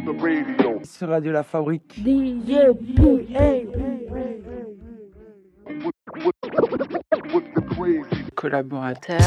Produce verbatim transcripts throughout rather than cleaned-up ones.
the radio. Sur Radio La Fabrique. D J P A. With, with, with the crazy Collaborateur.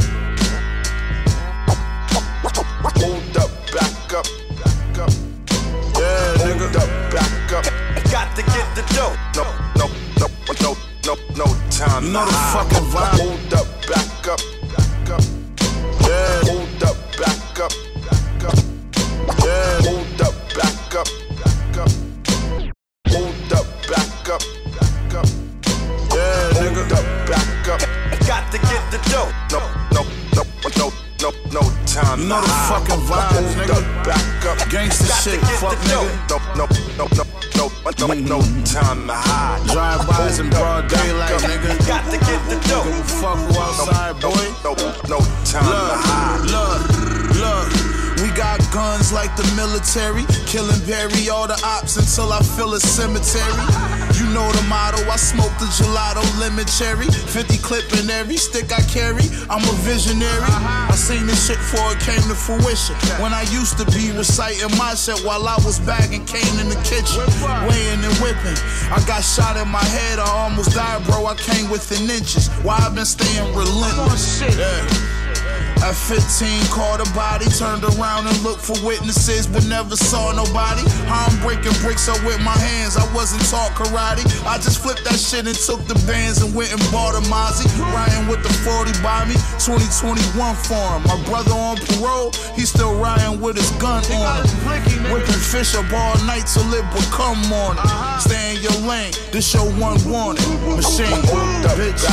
Hold up, back up, back up. Yeah, nigga. Hold up, back up. Got to get the dough. No, no, no, no, no, no time. You know the fucking vibe. Hold up, back up, back up. Yeah, hold up, back up, back up. Yeah, hold up, back up, back up. Hold up, back up, back up. Yeah, nigga. Hold up, back up. Got to get the dough. No, no, no, no. No, no time. You know the fucking vibes, nigga. Back up, gangsta shit, fuck nigga. No, no, no, no, no, no, no time to hide. Drive-bys in broad daylight, nigga. Got to get the dough. Fuck who outside, boy. No, no time to hide. Look, look. We got guns like the military, killing bury all the ops until I feel a cemetery. You know the motto, I smoke the gelato lemon cherry, fifty clip in every stick I carry. I'm a visionary. I seen this shit before it came to fruition. When I used to be reciting my shit while I was bagging cane in the kitchen, weighing and whipping. I got shot in my head, I almost died, bro. I came within inches. Why I been staying relentless? Yeah. At fifteen, caught a body, turned around and looked for witnesses, but never saw nobody. I'm breaking bricks up with my hands, I wasn't taught karate. I just flipped that shit and took the bands and went and bought a Mozzie. Riding with the forty by me, twenty twenty-one for him. My brother on parole, he's still riding with his gun on him. Whipping fish up all night till it become morning. Stay in your lane, this your one warning. Machine, bitch.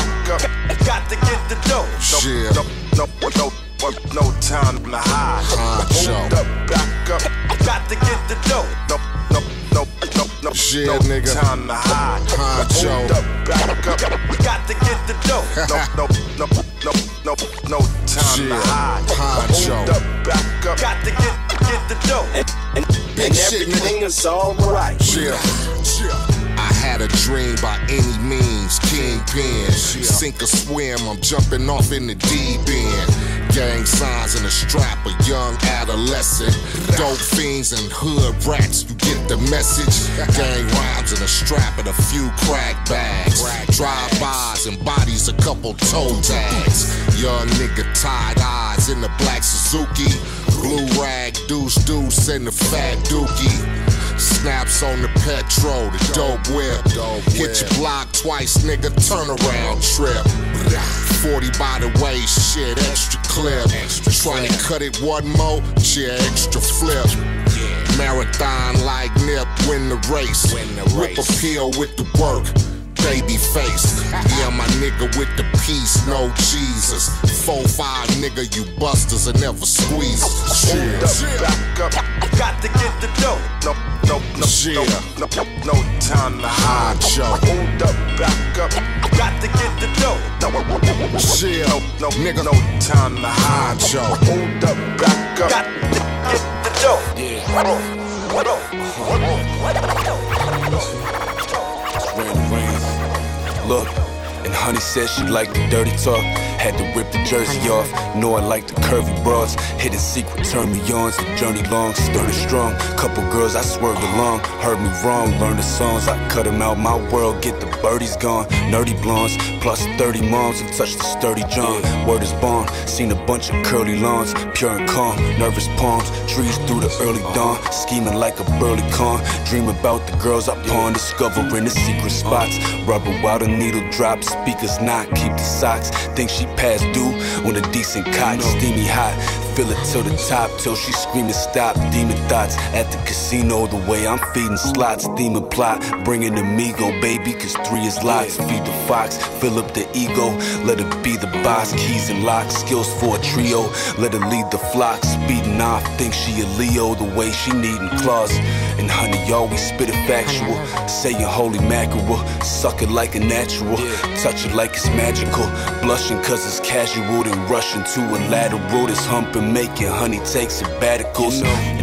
Got to get the dough. Shit. No, no, no, no time to hide. Hold up, back up. Got to get the dough. No, no, no, no, no, Shit, no nigga. Time to hide. Hold up, back up. Got to get the dough. No, no, no, no, no, no time Shit. To hide. Hold up, back up. Got to get, get the dough. And, and, and everything is alright. Yeah, yeah. I had a dream by any means, kingpin. Sink or swim, I'm jumping off in the deep end. Gang signs in a strap, a young adolescent. Dope fiends and hood rats, you get the message. Gang rhymes in a strap and a few crack bags. Drive-bys and bodies, a couple toe tags. Young nigga tied eyes in the black Suzuki. Blue rag, deuce deuce and the fat dookie. Snaps on the petrol, the dope whip. Hit your block twice, nigga, turn around trip. forty by the way, shit, extra clip. Trying to cut it one more, shit, extra flip. Marathon like Nip, win the race. Whip a pill with the work. Baby face, yeah, my nigga with the peace, no Jesus. Four five nigga, you busters and never squeeze. Hold up, back up, got to get the dough. No, no, no, no, no, no, no time to hide. Hold up, back up, got to get the dough. No, no, no, nigga, no time to hide. Hold up, back up, got to get the dough. Yeah. Rain, rain. Look, and honey said she liked the dirty talk. Had to rip the jersey off. Know I like the curvy broads. Hidden secret turn me on. The journey long, sturdy strong. Couple girls I swerved along. Heard me wrong, learn the songs. I cut them out my world, get the birdies gone. Nerdy blondes, plus thirty moms who touched the sturdy John. Word is born, seen a bunch of curly lawns. Pure and calm, nervous palms. Trees through the early dawn. Scheming like a burly con. Dream about the girls I pawn. Discovering the secret spots. Rubber while the needle drops. Speakers knock, keep the socks. Think she past due on a decent cot, steamy hot. Fill it to the top till she screaming stop. Demon thoughts at the casino, the way I'm feeding slots. Demon plot, bringing the Migo, baby, cause three is lots. Feed the fox, fill up the ego, let it be the boss. Keys and locks, skills for a trio, let her lead the flock. Speeding off, think she a Leo, the way she needing claws. And honey, always spit it factual, saying holy mackerel. Suck it like a natural, touch it like it's magical. Blushing cause it's casual, then rushing to a lateral. This humping making honey take sabbaticals. And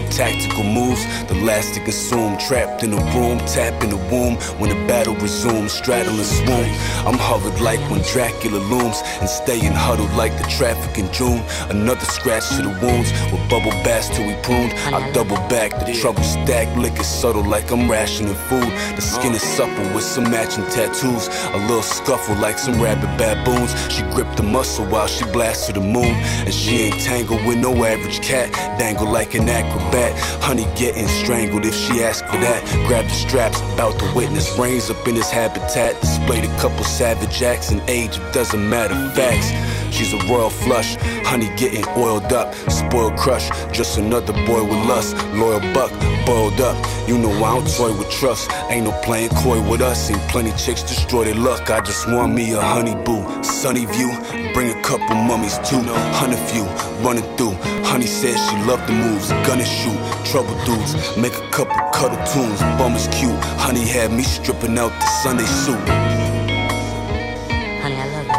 tactical moves, the last to consume. Trapped in a room, tap in the womb. When the battle resumes, straddle and swoon. I'm hovered like when Dracula looms, and staying huddled like the traffic in June. Another scratch to the wounds, with bubble baths till we pruned. I double back, the trouble stack, liquor subtle like I'm rationing food. The skin is supple with some matching tattoos. A little scuffle like some rabid baboons. She gripped the muscle while she blasted the moon. And she ain't tangled with no average cat. Dangle like an acrobat. Honey getting strangled if she asks for that. Grab the straps, about to witness brains up in his habitat. Displayed a couple savage acts and age, it doesn't matter, facts. She's a royal flush, honey getting oiled up. Spoiled crush, just another boy with lust. Loyal buck, boiled up. You know I don't toy with trust. Ain't no playing coy with us. Seen plenty chicks destroy their luck. I just want me a honey boo. Sunny view, bring a couple mummies too. Hundred few, running through. Honey says she loved the moves. Gun and shoot, trouble dudes. Make a couple cuddle tunes. Bum is cute. Honey had me stripping out the Sunday suit. Honey, I love you.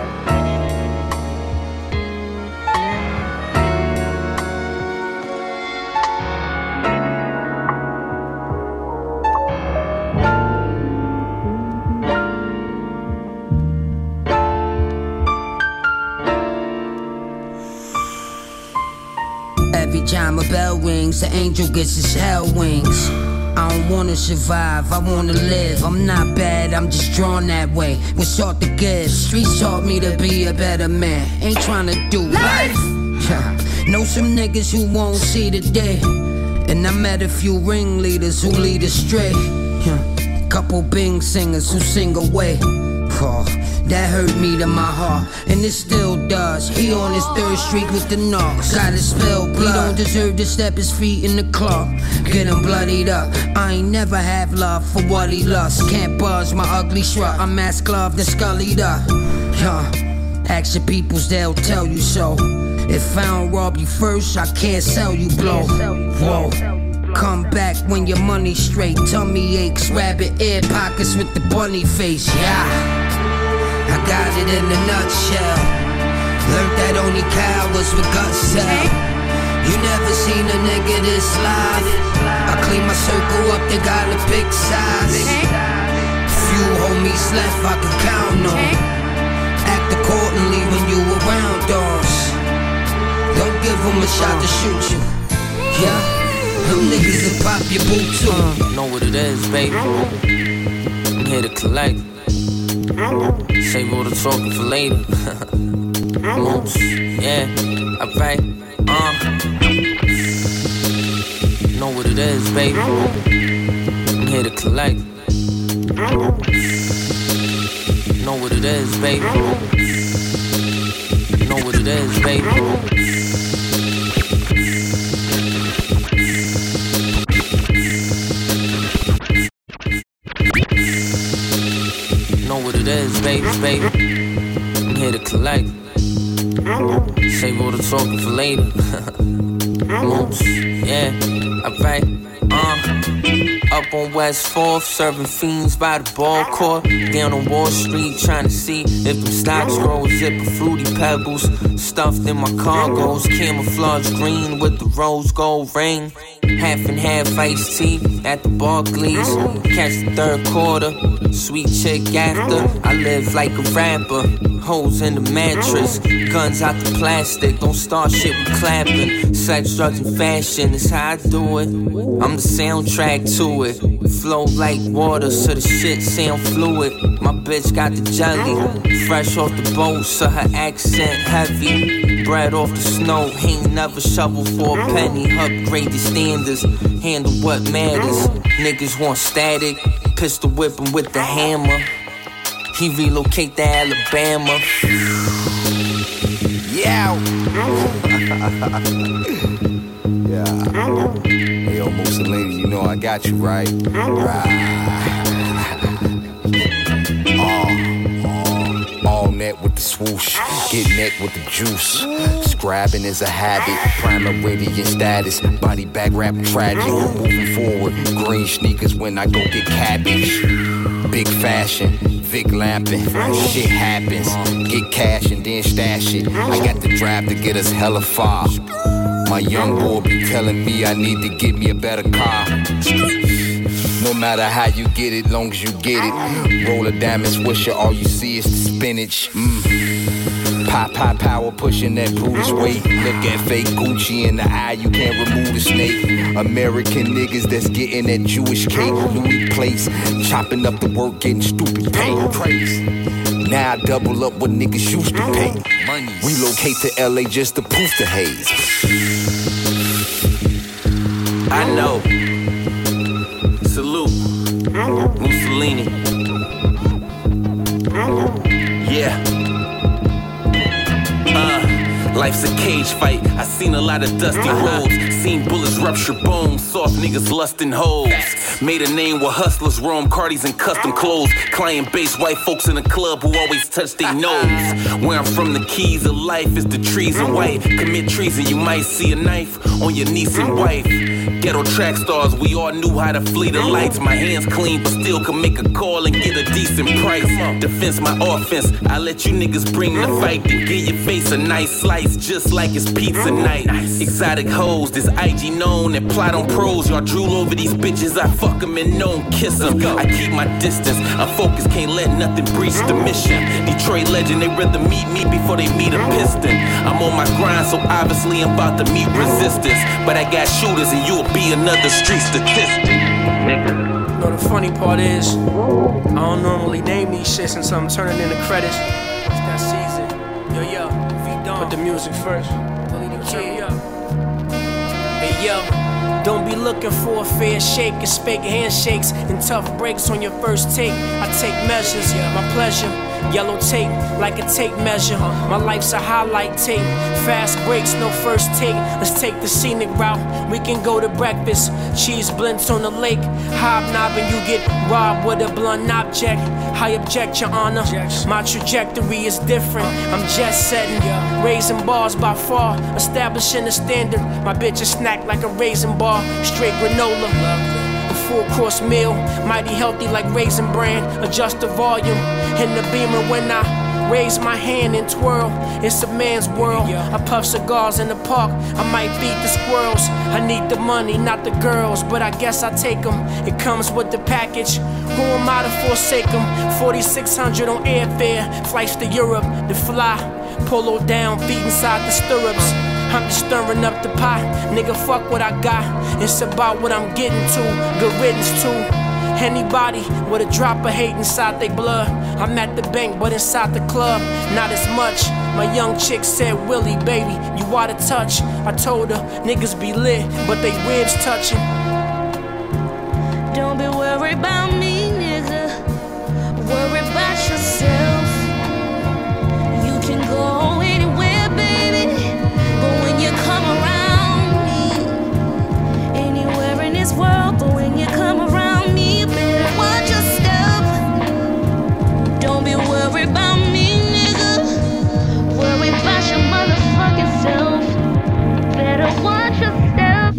Every time a bell rings, the angel gets his hell wings. I don't wanna survive, I wanna live. I'm not bad, I'm just drawn that way. What's all to give? Streets taught me to be a better man. Ain't tryna do life. Know some niggas who won't see the day. And I met a few ringleaders who lead astray. Couple Bing singers who sing away. Oh, that hurt me to my heart, and it still does. He on his third streak with the knocks. Gotta spill blood. He don't deserve to step his feet in the club. Get him bloodied up. I ain't never have love for what he lost. Can't buzz my ugly shrug. I'm mask gloved and scullied up. Huh. Ask your peoples, they'll tell you so. If I don't rob you first, I can't sell you blow. Whoa. Come back when your money's straight. Tummy aches, rabbit ear pockets with the bunny face. Yeah. I got it in a nutshell. Learned that only cowards with guts sell. You never seen a nigga this live. I clean my circle up, they gotta pick size. Few homies left I can count on. Act accordingly when you around us. Don't give them a shot to shoot you. Yeah, them niggas will pop your boot too. uh, Know what it is, baby. I'm here to collect. Save all the talking for later. Moves, yeah, alright, uh. Know what it is, baby. I'm here to collect. Know what it is, baby. Know what it is, baby. Know what it is, baby, baby. I'm here to collect. Save all the talking for later. Moves, yeah, alright, uh. Up on West fourth, serving fiends by the ball court. Down on Wall Street, trying to see if them stocks grow. Zipper fruity pebbles, stuffed in my cargoes. Camouflage green with the rose gold ring. Half and half iced tea at the Barclays. Catch the third quarter, sweet chick after. I live like a rapper, holes in the mattress. Guns out the plastic, don't start shit with clapping. Sex, drugs, and fashion is how I do it. I'm the soundtrack to it. Flow like water, so the shit sound fluid. My bitch got the jelly, fresh off the boat, so her accent heavy. Bread off the snow, ain't never shovel for a penny. Upgrade the standards, handle what matters. Niggas want static, pistol whipping with the hammer. He relocate to Alabama. Yeah. Yeah. Hey, yo, Mussolini, you know I got you, right? Right. Oh, all net with the swoosh, get neck with the juice. Scribing is a habit, primary status. Body bag rap tragic, moving forward. Green sneakers when I go get cabbage. Big fashion, Vic lamping, shit happens. Get cash and then stash it. I got the drive to get us hella far. My young boy be telling me I need to get me a better car. No matter how you get it, long as you get it. Roll a diamond swisher, all you see is the spinach. Mm. Pop, pop, power pushing that Brutus weight. Look at fake Gucci in the eye, you can't remove the snake. American niggas that's getting that Jewish cake. Louis plates, chopping up the work, getting stupid paint. Praise. Now I double up what niggas used to pay. Relocate to L A just to poof the haze. I know. Salute. Mussolini. Yeah. Uh, life's a cage fight. I seen a lot of dusty roads. Seen bullets rupture bones. Soft niggas lusting hoes. Made a name where hustlers roam Cardis and custom clothes. Client base white folks in the club who always touch their nose. Where I'm from, the keys of life is the trees and white. Commit treason, you might see a knife on your niece and wife. Ghetto track stars, we all knew how to flee the lights. My hands clean, but still can make a call and get a decent price. Defense my offense, I let you niggas bring the fight. Then give your face a nice slice, just like it's pizza night. Exotic hoes, this I G known and plot on pros. Y'all drool over these bitches, I fuck them and don't kiss them. I keep my distance, I'm focused, can't let nothing breach the mission. Detroit legend, they rather meet me before they meet a piston. I'm on my grind, so obviously I'm about to meet resistance. But I got shooters and you'll be another street statistic. Nigga. You know the funny part is, I don't normally name these shits since I'm turning in the credits. It's that season. Yo, yo, V-Don. Put the music first. Turn me up. Hey, yo. Don't be looking for a fair shake. It's fake handshakes and tough breaks on your first take. I take measures, my pleasure. Yellow tape, like a tape measure. My life's a highlight tape. Fast breaks, no first take. Let's take the scenic route. We can go to breakfast. Cheese blintz on the lake. Hobnobbing, you get robbed with a blunt object. I object, your honor. My trajectory is different. I'm jet setting, raising bars by far, establishing a standard. My bitch is snacked like a raisin bar, straight granola. A full course meal, mighty healthy like Raisin Bran. Adjust the volume in the beamer when I raise my hand and twirl. It's a man's world. I puff cigars in the park. I might beat the squirrels. I need the money, not the girls, but I guess I take them. It comes with the package. Who am I to forsake them? forty-six hundred on airfare, flights to Europe to fly. Polo down, feet inside the stirrups. I'm just stirring up the pot. Nigga, fuck what I got. It's about what I'm getting to. Good riddance too. Anybody with a drop of hate inside they blood. I'm at the bank, but inside the club, not as much. My young chick said, Willie, baby, you out of touch. I told her, niggas be lit, but they ribs touching. Don't be worried about me, nigga. Worry about yourself. You can go anywhere, baby, but when you come around me, anywhere in this world, but when you come around me, you better watch your step. Don't be worried about me, nigga. Worry about your motherfucking self. Better watch your step.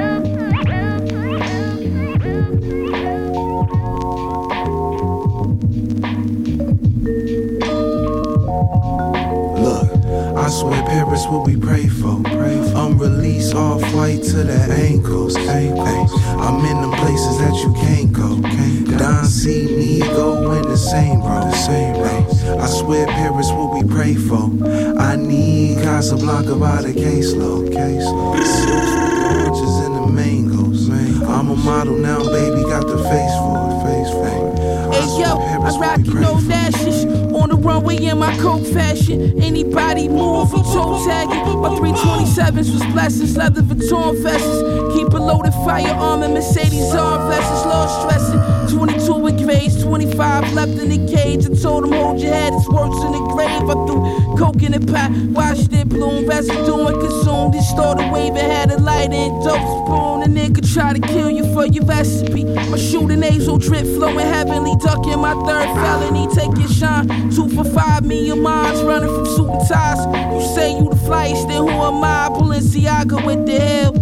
I swear Paris what we pray for. I'm released off white to the ankles. Ay, I'm in the places that you can't go. Don see me go in the same bro. Ay, I swear Paris what we pray for. I need Casablanca by the caseload. Oranges in the mangoes. I'm a model now, baby, got the face for it. Face for it. Hey yo, I rock you no dashes. On the runway in my coat fashion. Anybody move from toe tagging. My three twenty-sevens was blessings, leather Vuitton vests. Keep a loaded firearm and Mercedes arm vests. Low stressing. twenty-two with grades, twenty-five left in the cage. I told him hold your head, it's worse in the grave. I threw coke in the pot, watched it bloom, residue and consumed. It started waving, had a light and dope spoon. A nigga try to kill you for your recipe. My shooting nasal drip flowing heavenly, ducking my third felony. Take your shine, two for five, me your minds running from suit and ties. You say you the flyest, then who am I? Balenciaga with the hell.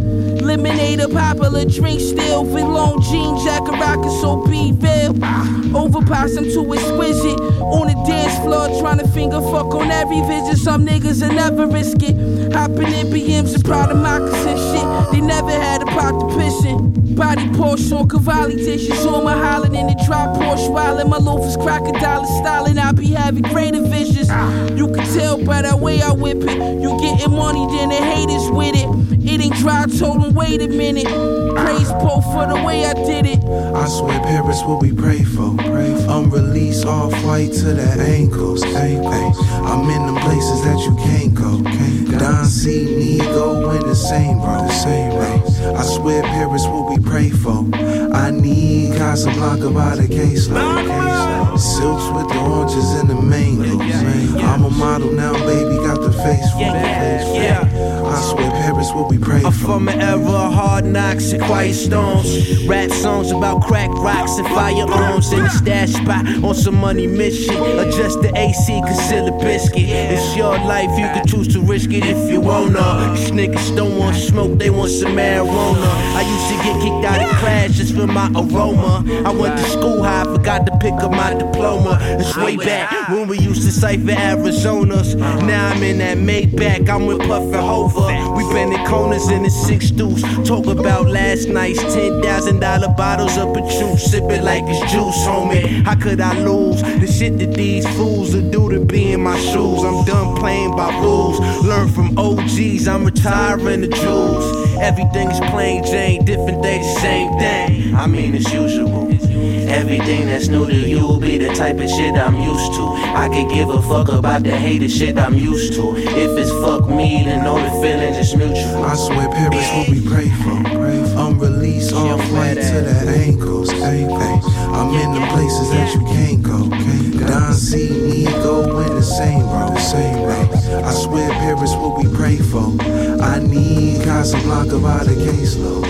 Lemonade, a popular drink still. With long jean jacket, rockin' so B-Ville. Overpass, I'm too exquisite. On the dance floor, trying to finger fuck on every visit. Some niggas will never risk it. Hopping in B Ms and proud of moccasin shit. They never had a pot to pissin'. Body Porsche on Cavalli dishes. On my hollin' in the drop Porsche wildin'. My loafers crocodile stylin'. I be having greater visions. You can tell by the way I whip it. You getting money, then the haters with it. It ain't dry, I told them wait a minute. Praise both for the way I did it. I swear Paris what we pray for. I'm released off white to the ankles. Ay, ay. I'm in them places that you can't go. Don C, Nigo in the same bro. The same ay. I swear Paris what we pray for. I need Casablanca by the caseload. Silks with the oranges and the mangoes. I'm a model now, baby, got the face for it. I swear Paris what we pray for. I'm from an era of hard knocks and quiet storms. Rap songs about crack rocks and firearms. In the stash spot on some money mission. Adjust the A C, conceal the biscuit. It's your life, you can choose to risk it if you wanna. These niggas don't want smoke, they want some marijuana. I used to get kicked out of class just for my aroma. I went to school high, forgot to pick up my diploma. It's way back when we used to cipher Arizonas. Now I'm in that Maybach, I'm with Puff and Hova. We been in corners in the six deuce. Talk about last night's ten thousand dollar bottles of Patron. Sip it like it's juice, homie. How could I lose the shit that these fools will do to be in my shoes? I'm done playing by rules. Learn from O Gs, I'm retiring the jewels. Everything's plain Jane, different days, same thing. I mean, it's usual. Everything that's new to you be the type of shit I'm used to. I could give a fuck about the hated shit I'm used to. If it's fuck me, then know the feeling is mutual. I swear Paris what we pray for. I'm released off white to the ankles. Ay, ay. I'm in the places that you can't go. Don C, Nigo in the same bro. The same bro. I swear Paris what we pray for. I need Casablanca by the caseload.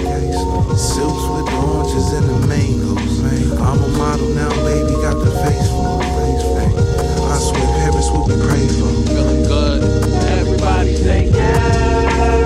Silks with the oranges and the mangoes. I'm a model now, baby, got the face for it. I swear Paris what we pray for. Feeling good. Everybody say yeah.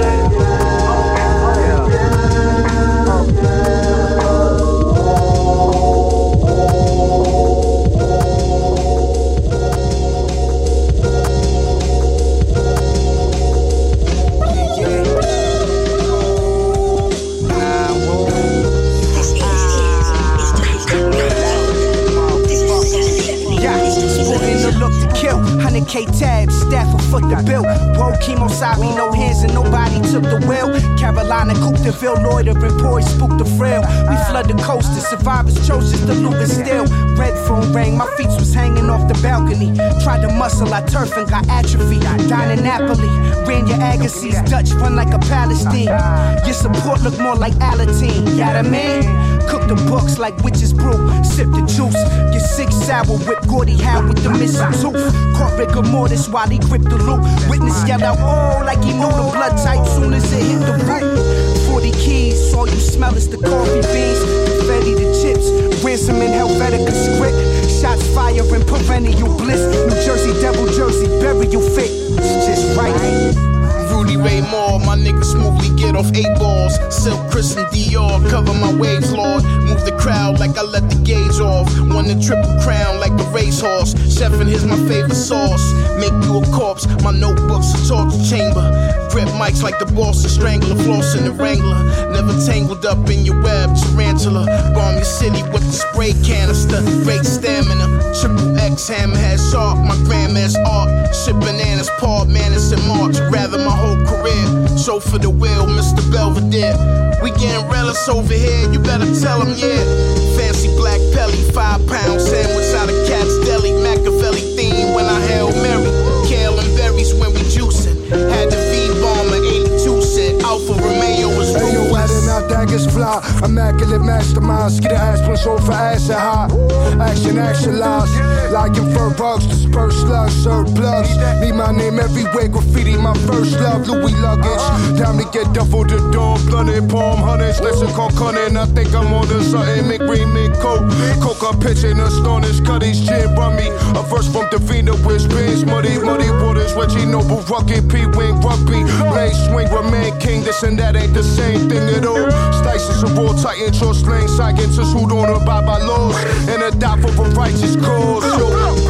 K-Tab, staff a foot the bill. Whoa, chemo Sabi, no hands and nobody took the wheel. Carolina, Coupe de Ville, loitering, boys spook the frail. We flood the coast, the survivors chose just to loot and steal. Red phone rang, my feet was hanging off the balcony. Tried to muscle, I turf and got atrophy. Down in Napoli, ran your Agassiz, Dutch run like a Palestine. Your support look more like Aladdin, you know what I mean? Cook the books like witches brew, sip the juice. Get sick sour, whip Gordy Howe with the missing tooth. Caught rigor mortis while he gripped the loop. Witness yell out, oh, like he knew the blood type soon as it hit the roof. forty keys, all you smell is the coffee beans. Confetti the chips, ransom in Helvetica script. Shots fire and perennial bliss. New Jersey, devil jersey, burial fit. It's just right. Rudy Ray Moore, my nigga smoothly get off eight balls. Silk, Chris and Dior, cover my waves, Lord. Move the crowd like I let the gauge off. Won the triple crown like a racehorse. Chefin', here's my favorite sauce. Make you a corpse, my notebook's a torture chamber. Grip mics like the Boston Strangler, floss in the Wrangler. Never tangled up in your web, tarantula. Bomb your city with the spray canister. Great stamina, triple X hammerhead shark. My grandma's art, ship bananas, Paul Manis and March. Rather my whole career, so for the wheel, Mister Belvedere. We getting relics over here, you better tell them yeah. Fancy black pelly, five pound sandwich out of Cat's Deli. Machiavelli theme when I Hail Mary. Kale and berries when we juicing. Had the V-bomber eighty-two said Alfa Romeo was ruthless. Hey, yo, out daggers fly. Immaculate masterminds, get the aspirin sold for acid high. Action, action lies, like in fur bugs, disperse slugs, surplus. Need my name everywhere, graffiti my first love. Louis luggage, time to get duffel the door, blunted palm hunters. Lesson called cunning, I think I'm on to something. Make green, make coke, coke up pitching, astonished. Cuddies, gin, rummy. A verse from Davina with spins, muddy, muddy waters. Reggie Noble, rugged, P-wing, rugby. Blade swing, remain king, this and that ain't the same thing at all. Slices of raw titan, your slang, scientists who don't abide by laws and adopt for a righteous cause. Yo.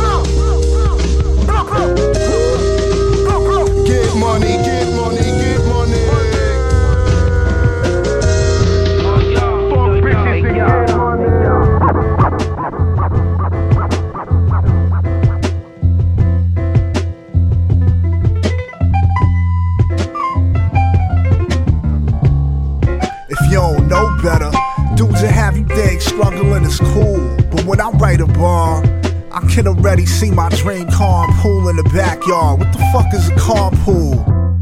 Get money, get money, get money. If you don't know better, dudes that have you think struggling is cool. But when I write a bar, I can already see my dream carpool in the backyard. What the fuck is a carpool?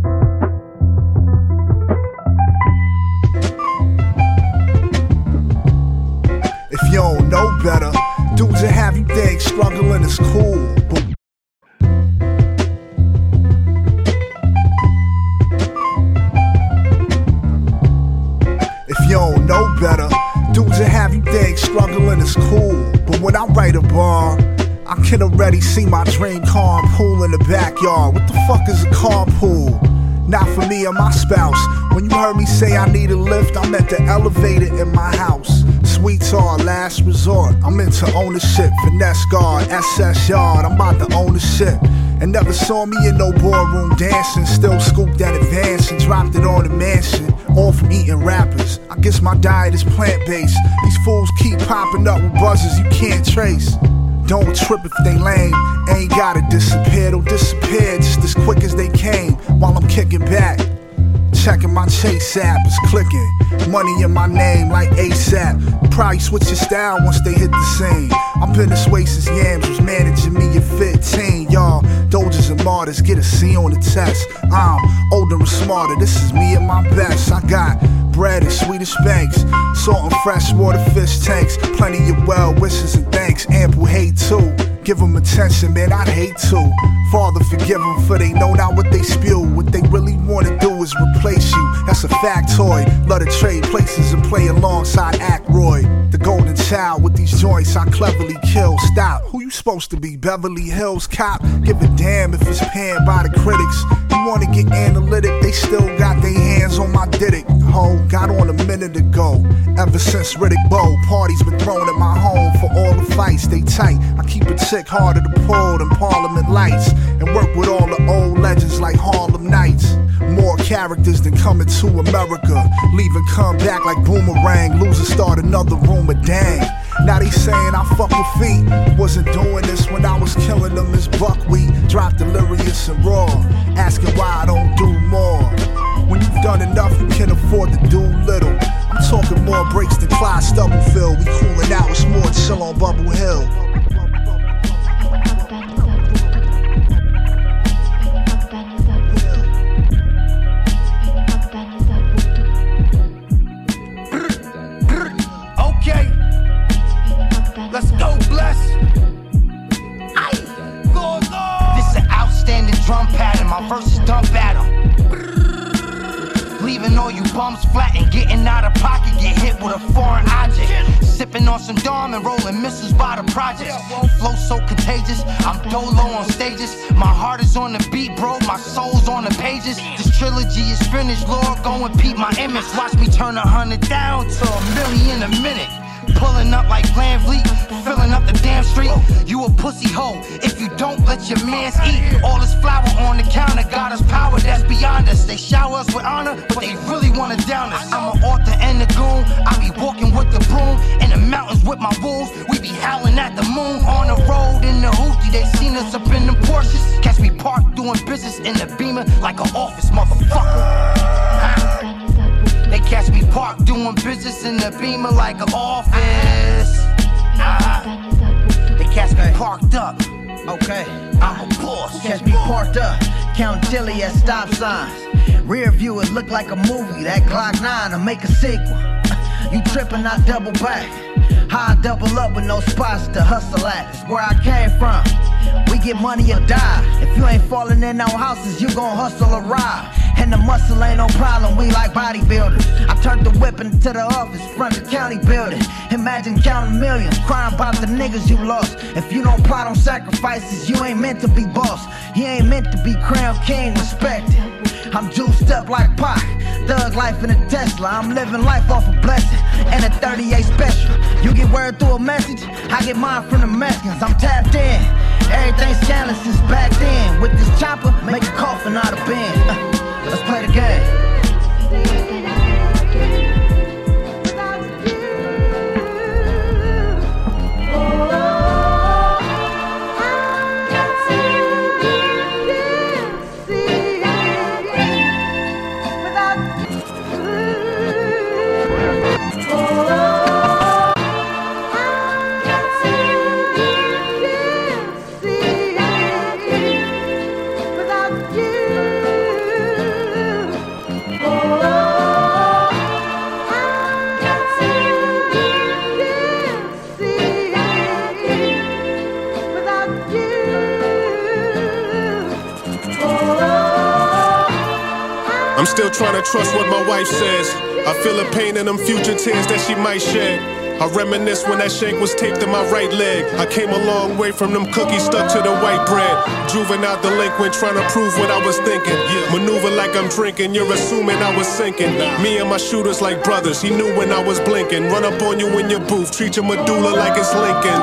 If you don't know better, dudes that have you think struggling is cool. But if you don't know better, dudes that have you think struggling is cool. But when I write a bar, I can already see my dream carpool in the backyard. What the fuck is a carpool? Not for me or my spouse. When you heard me say I need a lift, I meant the elevator in my house. Sweets are last resort. I'm into ownership, finesse guard, S S yard. I'm about to own the shit. And never saw me in no boardroom dancing. Still scooped that advance and dropped it on the mansion. All from eating rappers. I guess my diet is plant-based. These fools keep popping up with buzzers you can't trace. Don't trip if they lame. Ain't gotta disappear, they'll disappear just as quick as they came. While I'm kicking back, checking my Chase app, it's clicking. Money in my name like ASAP. Probably switch your style once they hit the scene. I've been this way since Yams was managing me at fifteen. Y'all, Doges and martyrs, get a C on the test. I'm older and smarter, this is me at my best. I got bread and Swedish banks, salt and freshwater fish tanks. Plenty of well wishes and thanks, ample hate too. Give them attention, man, I'd hate to. Father, forgive them for they know not what they spew. What they really wanna do is replace you. That's a factoid. Love to trade places and play alongside Ackroyd. The golden child with these joints I cleverly kill. Stop, who you supposed to be? Beverly Hills cop? Give a damn if it's panned by the critics. You wanna get analytic, they still got their hands on my Diddick. Ho, got on a minute ago. Ever since Riddick Bowe, parties been thrown at my home for all the fights. They tight, I keep a chick harder to pull than Parliament Lights. And work with all the old legends like Harlem Nights. More characters than coming to America. Leave and come back like boomerang. Lose and start another rumor, dang. Now they saying I fuck with feet. Wasn't doing this when I was killing them as buckwheat. Drop delirious and raw, asking why I don't do more. When you've done enough, you can afford to do little. I'm talking more breaks than Clyde Stubblefield. We cooling out, it's more chill on Bubble Hill. Let's go, bless. Aye. Go, go. This is an outstanding drum pattern. My verses dump at 'em. Leaving all you bums flat and getting out of pocket. Get hit with a foreign object. Sipping on some Dom and rolling missiles by the projects. Flow so contagious, I'm dolo on stages. My heart is on the beat, bro, my soul's on the pages. This trilogy is finished, Lord, go and peep my image. Watch me turn a hundred down to a million a minute. Pulling up like Van Vliet, filling up the damn street. You a pussy hoe if you don't let your mans eat. All this flour on the counter got us power that's beyond us. They shower us with honor, but they really wanna down us. I'm an author and a goon. I be walking with the broom in the mountains with my wolves. We be howling at the moon on the road in the hoopty. They seen us up in them Porsches. Catch me parked doing business in the Beamer like an office motherfucker. Huh? They catch me parked doing business in the Beamer like an office. Uh-huh. They catch me parked up. Okay, I'm a boss. Catch me parked up, count dilly at stop signs. Rear view, it look like a movie. That Glock nine will make a sequel. You trippin', I double back. How I double up with no spots to hustle at. It's where I came from. We get money or die. If you ain't falling in no houses, you gon' hustle or ride. And the muscle ain't no problem, we like bodybuilders. I turned the whip into the office, front the county building. Imagine counting millions, crying about the niggas you lost. If you don't plot on sacrifices, you ain't meant to be boss. He ain't meant to be crown king, respected. I'm juiced up like Pac, thug life in a Tesla. I'm living life off a blessing and a thirty-eight special. You get word through a message, I get mine from the Mexicans. I'm tapped in, everything scandalous since back then. With this chopper, make a coffin out of Ben. Uh, let's play the game. I'm still trying to trust what my wife says. I feel the pain in them future tears that she might shed. I reminisce when that shank was taped to my right leg. I came a long way from them cookies stuck to the white bread. Juvenile delinquent trying to prove what I was thinking. Maneuver like I'm drinking, you're assuming I was sinking. Me and my shooters like brothers, he knew when I was blinking. Run up on you in your booth, treat your medulla like it's Lincoln's.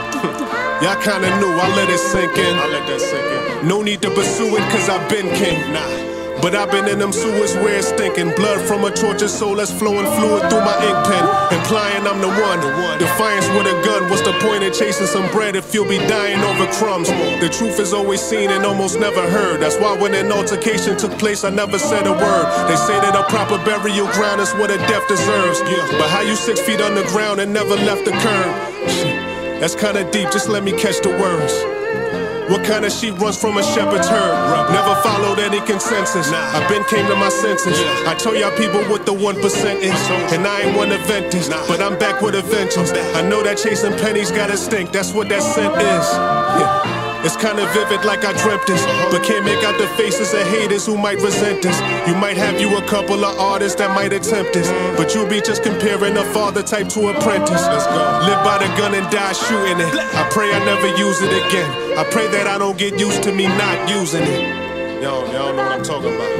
Y'all kinda knew, I let it sink in. I let that sink in. No need to pursue it, cause I've been king. Nah. But I've been in them sewers where it's stinking. Blood from a tortured soul that's flowing fluid through my ink pen. Implying I'm the one. Defiance with a gun. What's the point of chasing some bread if you'll be dying over crumbs? The truth is always seen and almost never heard. That's why when an altercation took place, I never said a word. They say that a proper burial ground is what a death deserves. But how you six feet underground and never left the curb? Shit, that's kinda deep, just let me catch the words. What kind of sheep runs from a shepherd's herd? Never followed any consensus. I been came to my senses. I told y'all people what the one percent is. And I ain't one to vent this, but I'm back with a vengeance. I know that chasing pennies gotta stink, that's what that scent is. Yeah. It's kinda vivid like I dreamt this, but can't make out the faces of haters who might resent this. You might have you a couple of artists that might attempt this, but you'll be just comparing a father type to apprentice. Let's go. Live by the gun and die shooting it. I pray I never use it again. I pray that I don't get used to me not using it. Y'all, y'all know what I'm talking about.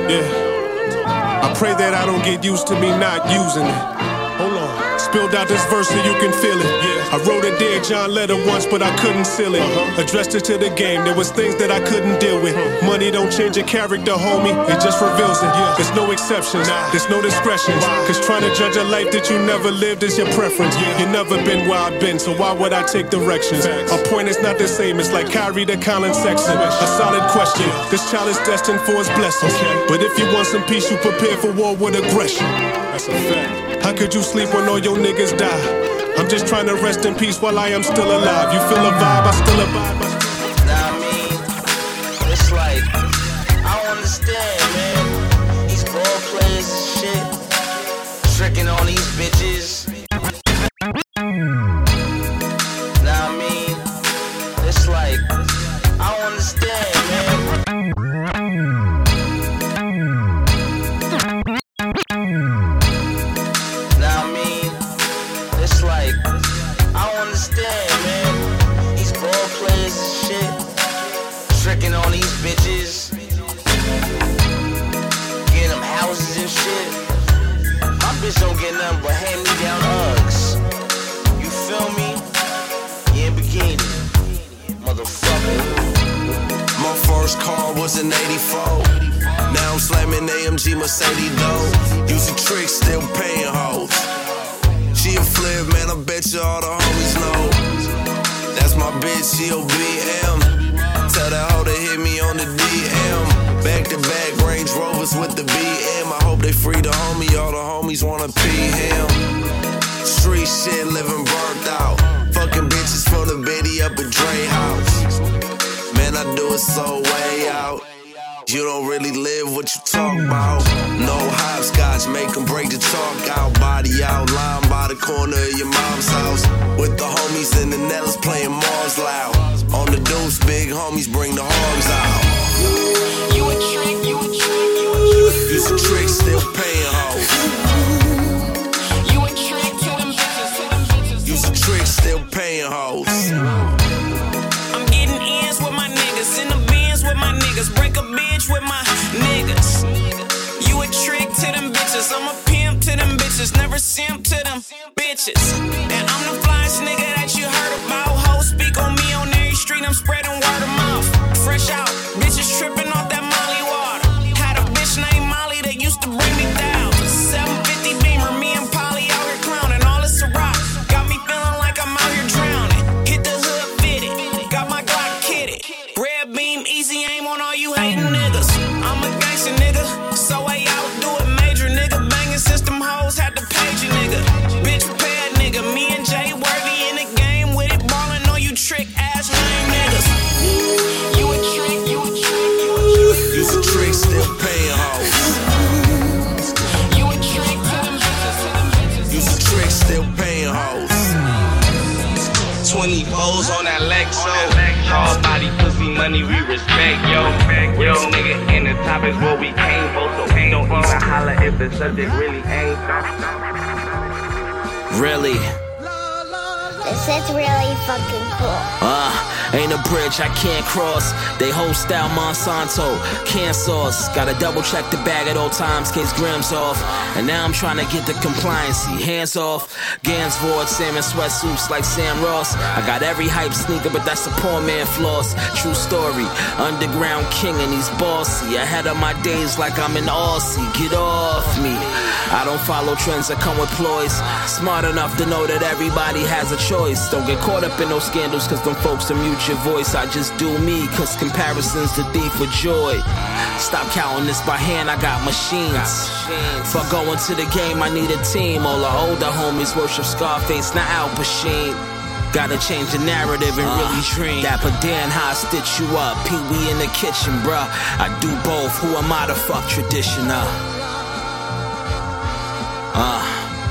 Yeah. I pray that I don't get used to me not using it. Hold on. Spilled out this verse so you can feel it. Yeah. I wrote a Dear John letter once, but I couldn't seal it. Uh-huh. Addressed it to the game, there was things that I couldn't deal with. Uh-huh. Money don't change your character, homie, it just reveals it. Yeah. There's no exceptions, nah. There's no discretions. Wow. Cause trying to judge a life that you never lived is your preference. Yeah. You never been where I've been, so why would I take directions? Facts. Our point is not the same, it's like Kyrie to Colin Sexton. A solid question, yeah. This child is destined for his blessings. Okay. But if you want some peace, you prepare for war with aggression. That's a fact. How could you sleep when all your niggas die? I'm just trying to rest in peace while I am still alive. You feel a vibe, I still abide. Nah, I mean, it's like, I don't understand, man. These ball players and shit, tricking on these bitches. Nah, I mean, it's like, I don't understand, man. Tricking on these bitches, getting them houses and shit. My bitch don't get nothing but hand-me-down Uggs. You feel me? You in bikini, motherfucker. My first car was an eighty-four. Now I'm slamming A M G Mercedes though. Using tricks, still paying hoes. She a flip, man, I bet you all the homies know. That's my bitch, she O B M. Tell that hoe to hit me on the D M. Back to back Range Rovers with the B M. I hope they free the homie, all the homies wanna pee him. Street shit, living burnt out. Fucking bitches from the Betty up at Dre house. Man, I do it so way out. You don't really live what you talk about. No hopscotch, make 'em break the chalk out. Body out, lying by the corner of your mom's house. With the homies and the Nellas playing Mars loud. On the deuce, big homies bring the hogs out. You a trick, you a trick, you a trick. Use a trick, still paying hoes. You a trick to them bitches, to them bitches. Use a trick, still paying hoes. I'm getting ends with my niggas, in the bins with my niggas, break a bitch with my niggas. You a trick to them bitches, I'm a pimp to them bitches, never simp to them bitches. And I'm the flyest nigga that you heard about. Hoes speak on me on every street, I'm spreading word of mouth. Fresh out, bitches tripping off that Molly water. Had a bitch named Molly that used to bring me down. seven fifty Beamer, me and Polly out here clowning, all this a rock. Got me feeling like I'm out here drowning. Hit the hood fitted, got my Glock kitted. Red beam, easy aim on all you hating niggas. I'm a gangster nigga, so I out do it major nigga. Banging system hoes had to page a nigga. Bitch prepared nigga, me and Jay Worthy in the game with it, ballin' on you trick ass lame niggas. You a trick, you a trick, you a trick. Use a trick, still paying hoes. You a trick to them bitches, to them bitches. Use a trick, still paying hoes. twenty-fours on that Lexo. Hard body, pussy, money, we respect, yo. Real nigga in the top is what we came for. So we don't even holler if the subject really ain't. Really? This is really fucking cool. Uh, ain't a bridge I can't cross. They whole style Monsanto, can sauce. Gotta double check the bag at all times, case grams off. And now I'm trying to get the compliancy, hands off. Gansford, salmon sweatsuits like Sam Ross. I got every hype sneaker, but that's a poor man floss. True story, underground king and he's bossy. Ahead of my days like I'm an Aussie, get off me. I don't follow trends that come with ploys. Smart enough to know that everybody has a choice. Don't get caught up in those scandals cause them folks will mute your voice. I just do me cause comparison's the thief of joy. Stop counting this by hand, I got machines. For going to the game I need a team. All the older homies worship Scarface, not Al Pacino. Gotta change the narrative and uh, really dream. Dapper Dan, how I stitch you up. Pee Wee in the kitchen, bruh. I do both, who am I to fuck traditional? Uh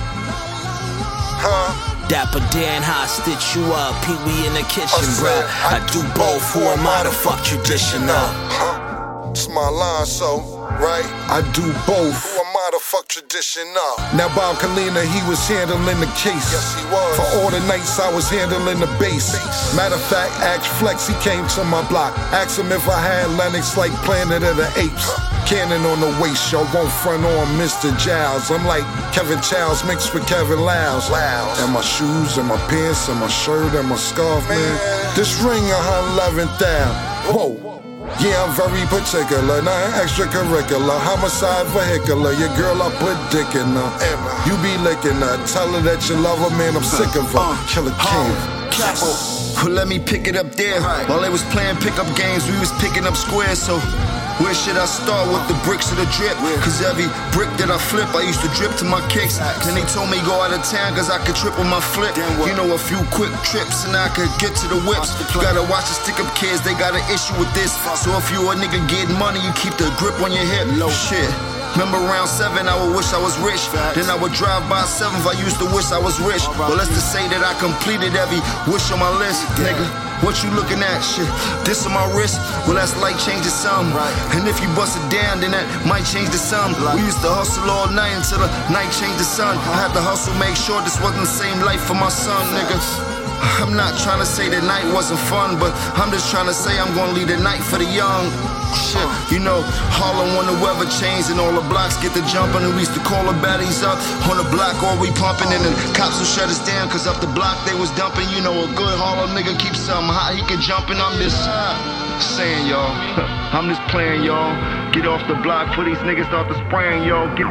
Huh? Dapper Dan, how I stitch you up. Pee Wee in the kitchen, bruh. I do both, who am I to fuck traditional? Huh? It's my line, so, right? I do both. Who am I to fuck traditional? Now Bob Kalina, he was handling the case. Yes, he was. For all the nights I was handling the bass. bass. Matter of fact, ask Flex, he came to my block. Asked him if I had Lennox like Planet of the Apes. Huh? Cannon on the waist, y'all won't front on Mister Giles. I'm like Kevin Childs mixed with Kevin Lyles. And my shoes, and my pants, and my shirt, and my scarf, man. man. This ring a hundred eleven thousand. Whoa. Yeah, I'm very particular, not extracurricular. Homicide vehicular, your girl I put dick in her. You be licking her, tell her that you love her, man, I'm sick of her. Killer King. Well, let me pick it up there. While they was playing pickup games, we was picking up squares, so where should I start with the bricks or the drip? Cause every brick that I flip, I used to drip to my kicks. Then they told me go out of town cause I could trip on my flip. You know, a few quick trips and I could get to the whips. You gotta watch the stick up kids, they got an issue with this. So if you a nigga getting money, you keep the grip on your hip. Low shit. Remember round seven, I would wish I was rich. Then I would drive by seventh, I used to wish I was rich. But let's just say that I completed every wish on my list, nigga. What you looking at? Shit, this on my wrist? Well, that's like changing some. And if you bust it down, then that might change the sum. We used to hustle all night until the night changed the sun. I had to hustle, make sure this wasn't the same life for my son, nigga. I'm not trying to say that night wasn't fun, but I'm just trying to say I'm gonna leave the night for the young. Shit, you know, Harlem when the weather changed and all the blocks get to jumping, and we used to call the baddies up on the block, or we pumping, and the cops will shut us down cause up the block they was dumping. You know, a good Harlem nigga keeps something hot, he can jump, and I'm just saying, y'all. I'm just playing, y'all. Get off the block for these niggas start to spraying, y'all. Get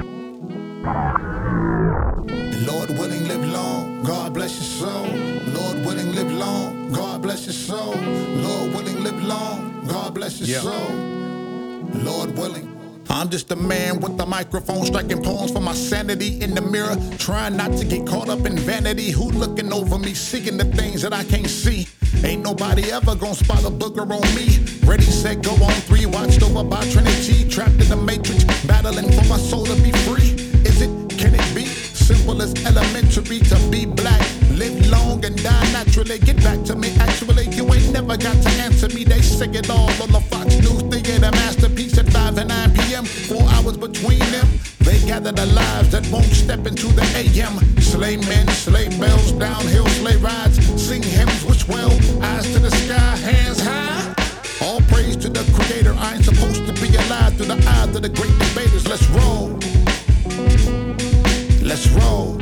Lord willing, live long. God bless your soul. Lord willing, live long. God bless your soul. Lord willing, live long. God bless your yeah. soul. Lord willing. I'm just a man with a microphone striking poems for my sanity in the mirror, trying not to get caught up in vanity. Who looking over me, seeking the things that I can't see? Ain't nobody ever gonna spot a booger on me. Ready, set, go on three. Watched over by Trinity. Trapped in the matrix, battling for my soul to be free. Is it, can it be? Simple as elementary to be black. Live long and die naturally. Get back to me, actually. You ain't never got to answer me. They sing it all on the Fox News Theater masterpiece at five and nine p.m. Four hours between them. They gather the lives that won't step into the A M. Sleigh men, sleigh bells, downhill sleigh rides. Sing hymns which well, eyes to the sky, hands high. All praise to the creator. I ain't supposed to be alive through the eyes of the great debaters. Let's roll. Let's roll.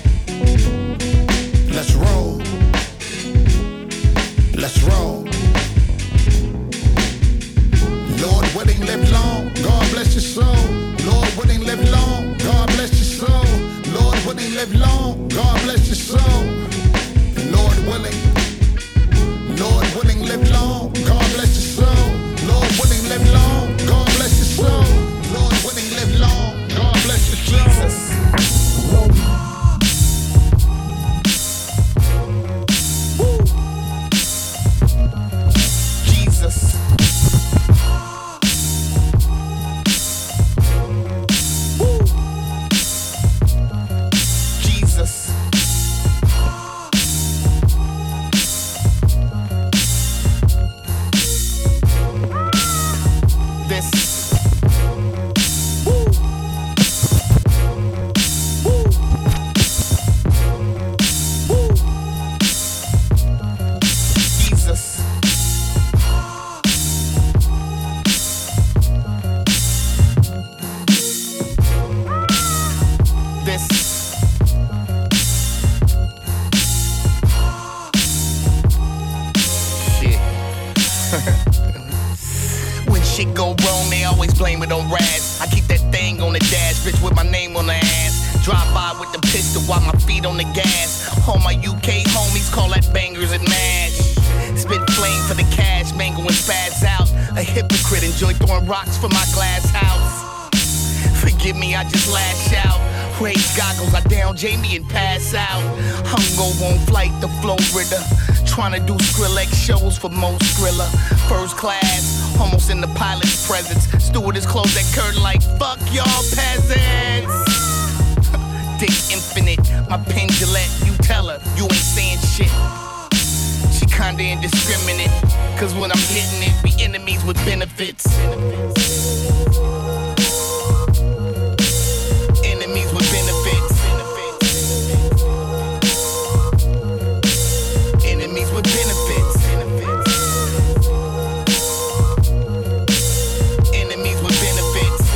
Let's roll. Let's roll. Lord willing, live long. God bless your soul. Lord willing, live long. God bless your soul. Lord willing, live long. God bless your soul. Lord willing. Lord willing, live long. God bless your soul. Lord willing, live long. God bless your soul. Lord willing, live long. God bless your soul. Jesus. Rocks for my glass house. Forgive me, I just lash out. Raise goggles, I down Jamie and pass out. Hungover on flight to Florida. Trying to do Skrillex shows for Mo Skrilla. First class, almost in the pilot's presence. Stewardess closed that curtain like, fuck y'all peasants. Dick infinite, my pen Gillette. You tell her, you ain't saying shit. She kinda indiscriminate. Cause when I'm hitting it, we enemies with benefits. Enemies with benefits. Enemies with benefits. Enemies with benefits.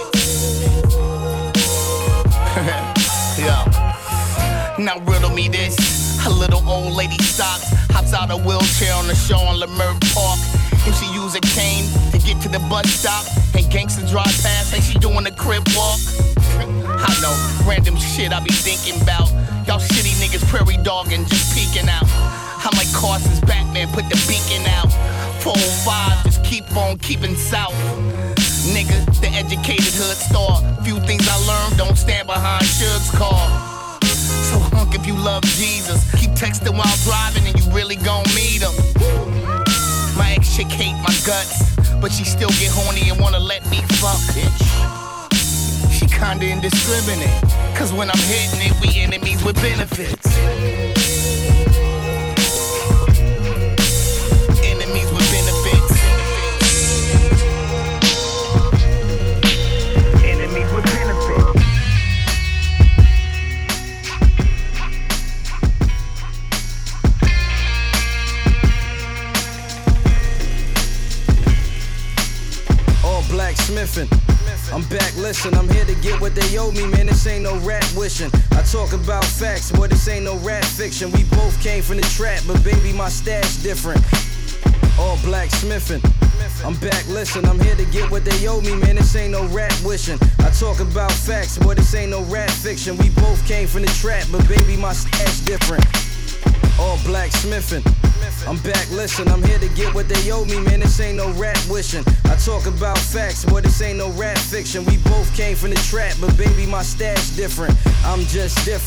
Yo. Now riddle me this. A little old lady stops. Hops out a wheelchair on the show on Leimert Park. And she use a cane to get to the bus stop. And gangsters drive past like she doing a crib walk. I know, random shit I be thinking about. Y'all shitty niggas prairie dogging, just peeking out. I'm like Carson's Batman, put the beacon out. four oh five, just keep on keeping south. Nigga, the educated hood star. Few things I learned, don't stand behind Suge's car. So hunk if you love Jesus. Keep texting while driving and you really gon' meet him. My ex chick hate my guts, but she still get horny and wanna let me fuck, bitch. She kinda indiscriminate, cause when I'm hitting it, we enemies with benefits. Enemies with benefits. Enemies with benefits. Blacksmithing. I'm back, listen, I'm here to get what they owe me, man, this ain't no rap wishing. I talk about facts, boy, this ain't no rap fiction. We both came from the trap, but baby, my stash different. All blacksmithing. I'm back, listen, I'm here to get what they owe me, man, this ain't no rap wishing. I talk about facts, boy, this ain't no rap fiction. We both came from the trap, but baby, my stash different. All blacksmithing. I'm back, listen, I'm here to get what they owe me, man, this ain't no rap wishing. I talk about facts, boy, this ain't no rap fiction. We both came from the trap, but baby, my stash different. I'm just different.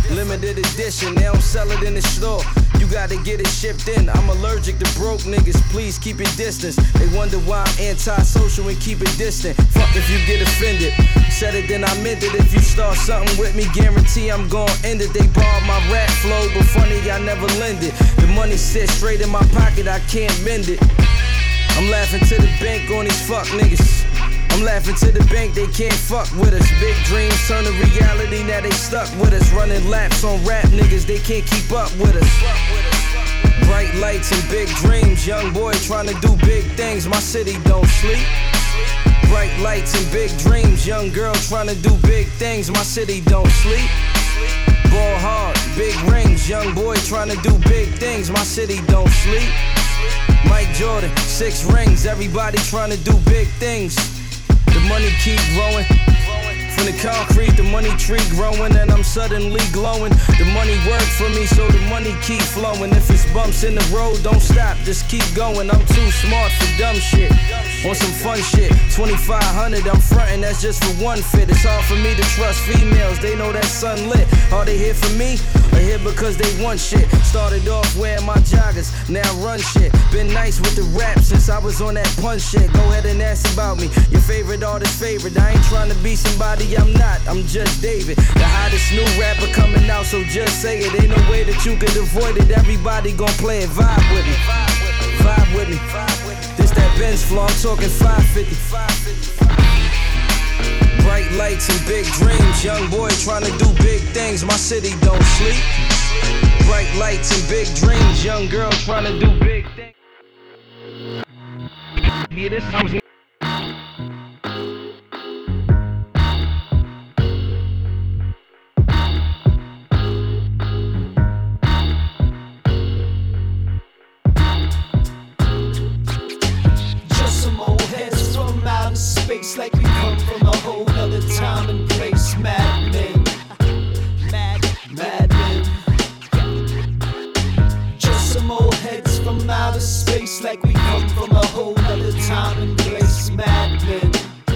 limited edition. They don't sell it in the store. You gotta get it shipped in. I'm allergic to broke niggas, please keep your distance. They wonder why I'm anti-social and keep it distant. Fuck if you get offended. Said it, then I meant it. If you start something with me, guarantee I'm gon' end it. They borrowed my rap flow, but funny, I never lend it. The money sits straight in my pocket, I can't bend it. I'm laughing to the bank on these fuck niggas. I'm laughing to the bank, they can't fuck with us. Big dreams turn to reality, now they stuck with us. Running laps on rap niggas, they can't keep up with us. Bright lights and big dreams, young boy trying to do big things, my city don't sleep. Bright lights and big dreams, young girl trying to do big things, my city don't sleep. Ball hard, big rings, young boy trying to do big things, my city don't sleep. Mike Jordan, six rings, everybody trying to do big things. The money keep growing. From the concrete, the money tree growing, and I'm suddenly glowing. The money work for me, so the money keep flowing. If it's bumps in the road, don't stop, just keep going. I'm too smart for dumb shit. On some fun shit, twenty-five hundred, I'm frontin', that's just for one fit. It's hard for me to trust females, they know that sun lit. Are they here for me, or here because they want shit? Started off wearing my joggers, now run shit. Been nice with the rap since I was on that punch shit. Go ahead and ask about me, your favorite artist favorite. I ain't trying to be somebody I'm not, I'm just David. The hottest new rapper coming out, so just say it. Ain't no way that you could avoid it, everybody gon' play it. Vibe with me, vibe with me. This that Benz flow, I'm talking five fifty. Bright lights and big dreams, young boy trying to do big things, my city don't sleep. Bright lights and big dreams, young girl trying to do big things. Yeah, this sounds space like we come from a whole other time and place. Madmen, mad, madmen. Just some old heads from outer space like we come from a whole other time and place. Madmen,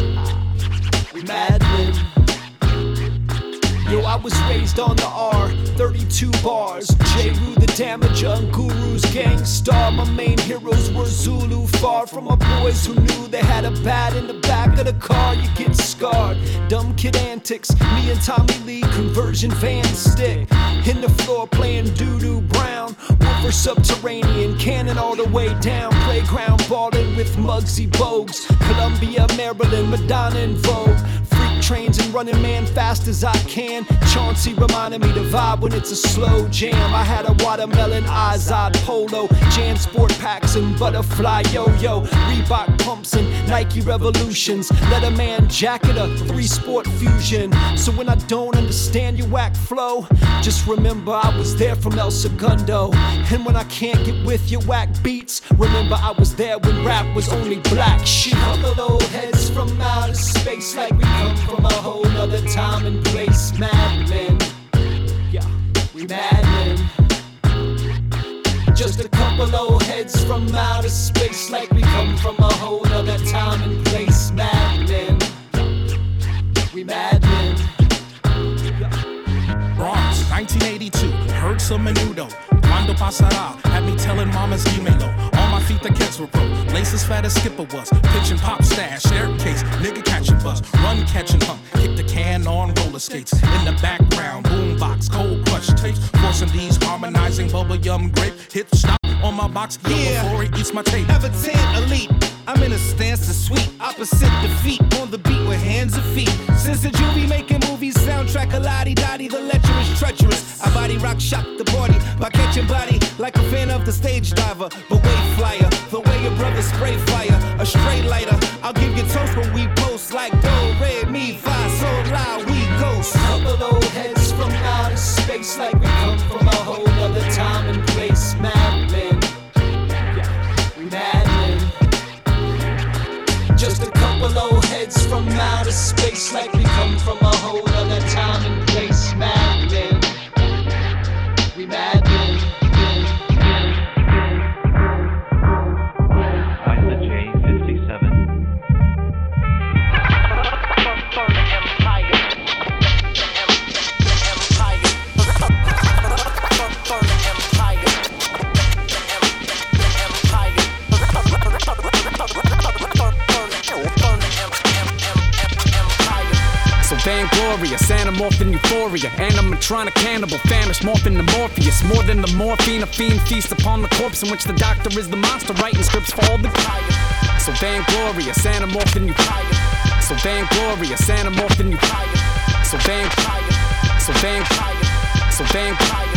madmen. Yo, I was raised on the R, thirty-two bars. J-Roo the Damager and Guru's gang star. My main heroes were Zulu, far from my boys who knew they had a bat in the back of the car. You get scarred, dumb kid antics. Me and Tommy Lee, conversion van stick. In the floor playing doo-doo brown. Woofer subterranean, cannon all the way down. Playground balling with Muggsy Bogues. Columbia, Maryland, Madonna in Vogue. Freak trains and running man fast as I can. Chauncey reminded me to vibe when it's a slow jam. I had a watermelon Izod polo, Jan Sport packs and butterfly yo-yo, Reebok pumps and Nike Revolutions. Let a man jacket a three sport fusion. So when I don't understand your whack flow, just remember I was there from El Segundo. And when I can't get with your whack beats, remember I was there when rap was only black shit. Couple old heads from outer space like we come from a whole other time and place. Madmen, yeah, we madmen. Just a couple old heads from outer space like we come from a whole other time and place. Madmen, we madmen. Bronx, nineteen eighty-two, heard some menudo. Cuando pasará, had me telling mama's email. On my feet the kids were broke, laces fat as Skipper was. Pitching pop stash, staircase, nigga catching bus. Run, catching hump, kick the can on roller skates. In the background, boombox, cold crush tapes. Forcing these harmonizing bubble yum grape. Hit stop on my box, yeah, before he eats my tape. Everton elite, I'm in a stance to sweet. Opposite defeat, on the beat with hands and feet. Since the juvie making movies, soundtrack a lottie-dottie. The lecherous, treacherous. I body rock, shock the body by catching body like a fan of the stage diver. But wait, flyer, the way your brother spray fire, a straight lighter. I'll give you toast when we post like do, re, mi, fa, sol, la, we ghost. Couple old heads from outer space like we come from a whole other time and place. Madmen, yeah, we madmen. Just a couple old heads from outer space like we come from a whole other time and place. Madmen, we madmen. Isla J fifty-seven. Anamorph in euphoria, animatronic cannibal, famished, morphin' to Morpheus. More than the morphine, a fiend feast upon the corpse in which the doctor is the monster, writing scripts for all the tired. So vainglorious, Anamorph in euphoria. So vainglorious, Anamorph in euphoria. So vain, so vain, so vain,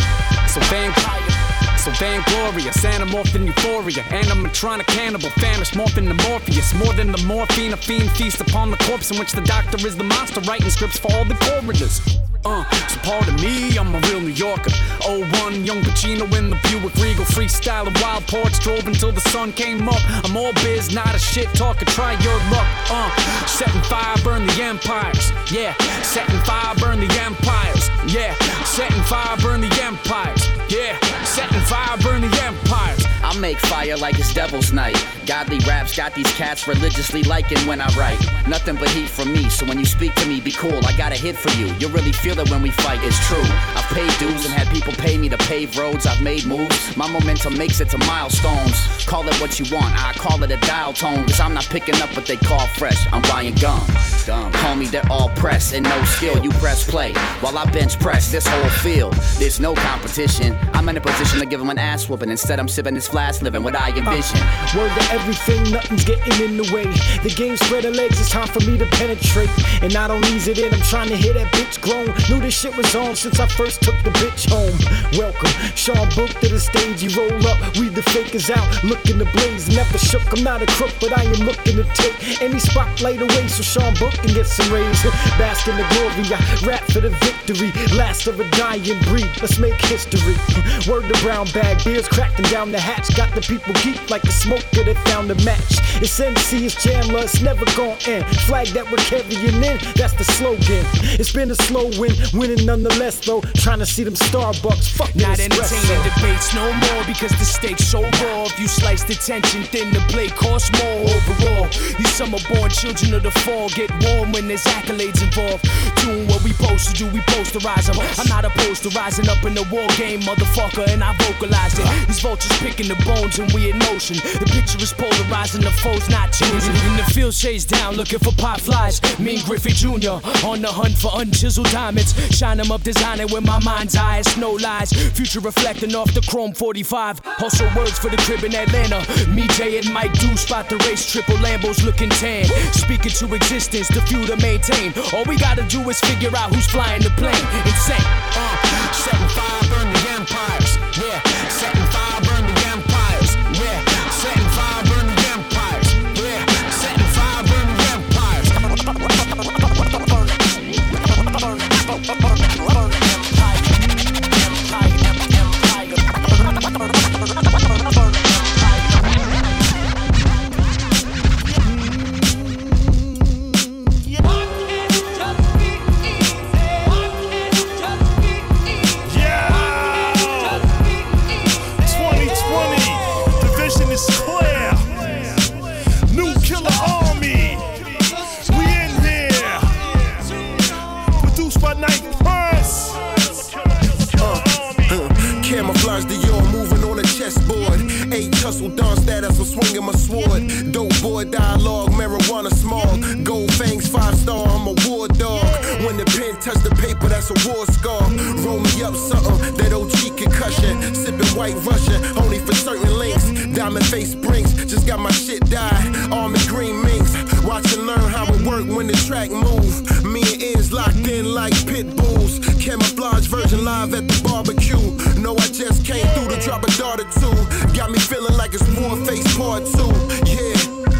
so vain, so vainglorious, Anamorph in euphoria, animatronic cannibal, famished, morphin' to Morpheus. More than the morphine, a fiend feast upon the corpse in which the doctor is the monster, writing scripts for all the coroners. Uh, so pardon me, I'm a real New Yorker. oh one, young Pacino in the Buick Regal, freestyling wild porch, drove until the sun came up. I'm all biz, not a shit talker, try your luck. Uh, setting fire, burn the empires. Yeah, setting fire, burn the empires. Yeah, setting fire, burn the empires. Yeah, setting fire, burn the empires. I make fire like it's Devil's Night. Godly raps got these cats religiously liking when I write. Nothing but heat from me, so when you speak to me, be cool. I got a hit for you. You really feel it when we fight, it's true. I've paid dues and had people pay me to pave roads. I've made moves. My momentum makes it to milestones. Call it what you want, I call it a dial tone. Cause I'm not picking up what they call fresh. I'm buying gum. Gum. Call me, they're all press and no skill. You press play while I bench press this whole field. There's no competition. I'm in a position to give them an ass whooping. Instead, I'm sipping this flask, living what I envision. Uh, word to everything, nothing's getting in the way. The game spread her legs, it's time for me to penetrate. And I don't ease it in, I'm trying to hear that bitch groan. Knew this shit was on since I first took the bitch home. Welcome, Sean Book to the stage, he roll up, we the fakers out, looking to blaze. Never shook, I'm not a crook, but I am looking to take any spotlight away so Sean Book can get some raise. Bask in the glory, I rap for the victory. Last of a dying breed, let's make history. Word to brown bag, beers cracking down the hatch. Got the people geek like the smoker that found a match. It's M C, it's Chandler, it's never gon' end. Flag that we're carrying in, that's the slogan. It's been a slow win, winning nonetheless though. Trying to see them Starbucks, fuck not entertaining debates no more because the stakes so raw. If you slice the tension thin, the play costs more overall. These summer-born children of the fall get warm when there's accolades involved. Doing what we supposed to do, we posterize them. I'm not opposed to rising up in the war game, motherfucker, and I vocalized it. These vultures picking the bones and we in motion. The picture is polarizing, the foe's not changing. In the field shades down, looking for pot flies. Me and Griffey Junior on the hunt for unchiseled diamonds. Shine them up, designing with my mind's eye. No lies, future reflecting off the chrome forty-five. Also words for the crib in Atlanta. Me, Jay, and Mike do spot the race. Triple Lambos looking tan. Speaking to existence, the few to maintain. All we gotta do is figure out who's flying the plane. Insane. Uh, setting fire, burn the empires. Yeah, setting fire, burn the empires. Yeah, setting fire, burn the empires. Yeah, setting fire, burn the empires. Tussle Don status, I'm swinging my sword. Dope boy dialogue, marijuana small. Gold fangs, five star, I'm a war dog. When the pen touch the paper, that's a war scar. Roll me up something, that O G concussion. Sipping white Russian, only for certain links. Diamond face springs, just got my shit dyed. Army green minks, watch and learn how it work when the track move. Me and Ends locked in like pit bulls. Camouflage version live at the barbecue. No, I just came through to drop a dart or two. Got me feeling like it's Warface part two. Yeah.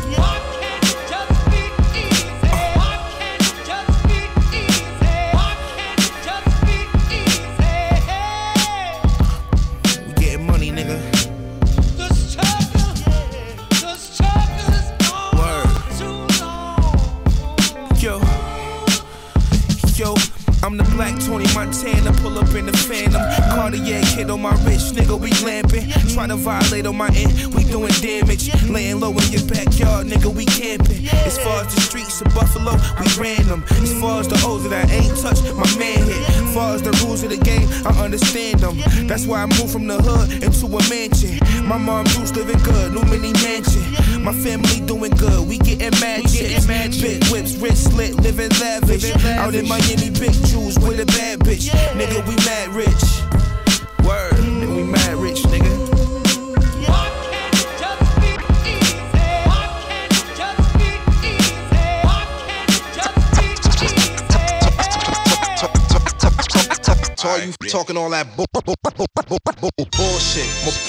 We getting money, nigga. Yo, yo, I'm the black Tony Montana, pull up in the Phantom. Cartier hit on my wrist, nigga, we lamping. Tryna violate on my end, we doing damage. Laying low in your backyard, nigga, we camping. As far as the streets of Buffalo, we ran them. As far as the O's that I ain't touched, my man hit. As far as the rules of the game, I understand them. That's why I moved from the hood into a mansion. My mom Bruce living good, new mini mansion. My family doing good, we getting mad chicks. Big whips, wrist slit, living lavish. Out in Miami, big jewels with a bad bitch. Nigga, we mad rich. Word, nigga, we mad rich, nigga. All you talking all that bu- bu- bu- bu- bu- bu- bullshit.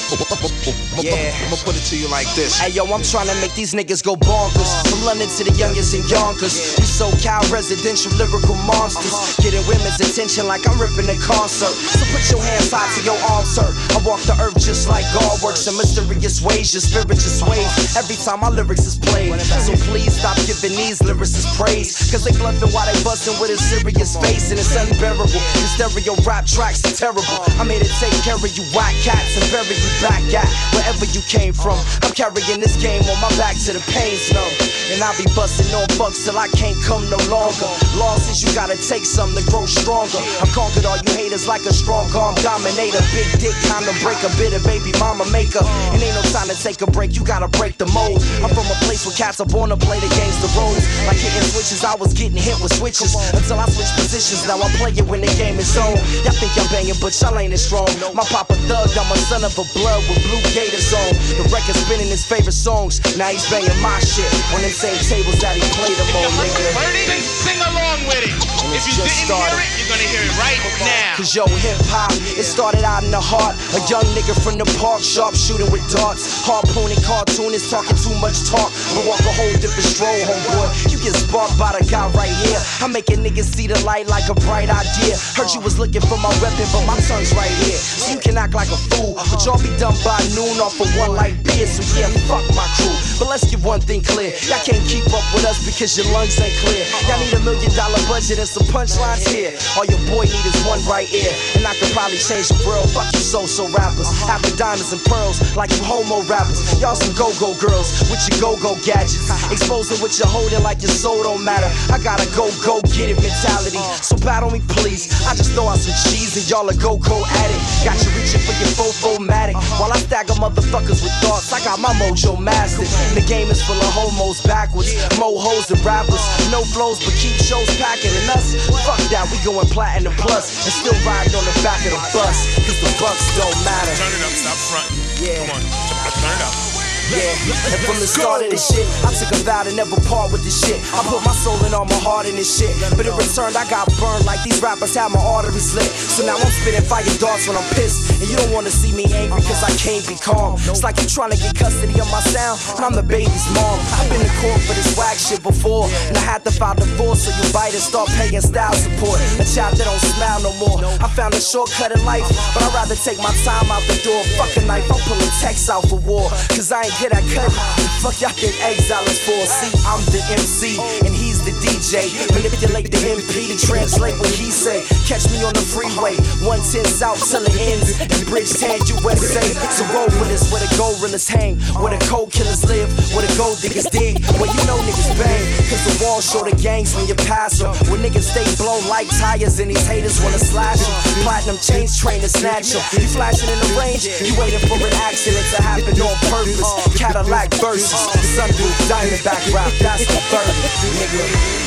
Yeah, I'ma put it to you like this. Hey yo, I'm trying to make these niggas go bonkers. From London to the youngest in Yonkers. We SoCal residential lyrical monsters. Getting women's attention like I'm ripping a concert. So put your hands high to your arms, sir. I walk the earth just like God works in mysterious ways. Your spirit just sways every time my lyrics is played. So please stop giving these lyricists praise. Cause they bluffing while they busting with a serious face. And it's unbearable. The stereo rap tracks are terrible. I'm here to take care of you whack cats and bury you back at wherever you came from. I'm carrying this game on my back to the pain's numb. And I'll be busting on bucks till I can't come no longer. Losses, you gotta take some to grow stronger. I conquered all you haters like a strong arm dominator. Big dick, time to break a bit of baby mama maker. And ain't no time to take a break, you gotta break the mold. I'm from a place where cats are born to play the games the roles. Like hitting switches, I was getting hit with switches. Until I switch positions, now I play it when the game is on. Y'all think I'm banging, but y'all ain't as strong. My papa thug, I'm a son of a blood with blue gators on. The record spinning his favorite songs. Now he's banging my shit on them same tables that he played them on, nigga. Then sing along with it. If you didn't started. hear it, you're gonna hear it right now. Cause yo, hip hop, it started out in the heart. A young nigga from the park, sharp shooting with darts. Harpooning cartoonists, talking too much talk. But walk a whole different stroll, homeboy. You get sparked by the guy right here. I'm making niggas see the light like a bright idea. Heard you was looking for my weapon, but my tongue's right here. So you can act like a fool, but y'all be done by noon off of one light beer. So yeah, fuck my crew. But let's get one thing clear. Y'all can't keep up with us because your lungs ain't clear. Y'all need a million dollar budget and some punchlines here. All your boy need is one right ear. And I could probably change the world. Fuck you so-so rappers. Half the diamonds and pearls like you homo rappers. Y'all some go-go girls with your go-go gadgets. Exposing what you're holding like your soul don't matter. I got a go-go get it mentality. So battle me please. I just throw out some cheese and y'all a go-go addict. Got you reaching for your fofo-matic. While I stagger motherfuckers with thoughts, I got my mojo mastered. The game is full of homos backwards. Mo hoes and rappers. No flows but keep shows packing. And us, fuck that, we going platinum plus. And still riding on the back of the bus. Cause the bucks don't matter. Turn it up, stop fronting. Yeah. Come on, turn it up. Yeah, and from the start of this shit, I took a vow to never part with this shit. I put my soul and all my heart in this shit. But in return, I got burned like these rappers had my arteries lit. So now I'm spitting fire darts when I'm pissed. And you don't wanna see me angry cause I can't be calm. It's like you trying to get custody of my sound, and I'm the baby's mom. I've been to court for this whack shit before, and I had to file divorce so you bite and start paying style support. A child that don't smile no more. I found a shortcut in life, but I'd rather take my time out the door. Fuck a knife, I'm pulling texts out for war. Cause I ain't good at cutting. Fuck y'all think exile is for. See, I'm the M C and he's the D J. Manipulate the M P to translate what he say. Catch me on the freeway, one ten south till it ends in Bridgetown, U S A. So roll with us where the gold reelers hang, where the cold killers live, where the gold diggers dig, where you know niggas bang. Cause the walls show the gangs when you pass them, where niggas stay blown like tires and these haters wanna slash them. Platinum chains train to snatch them. You flashing in the range, you waiting for an accident to happen on purpose. Cadillac versus Sundu Diamondback rap, that's the third, nigga.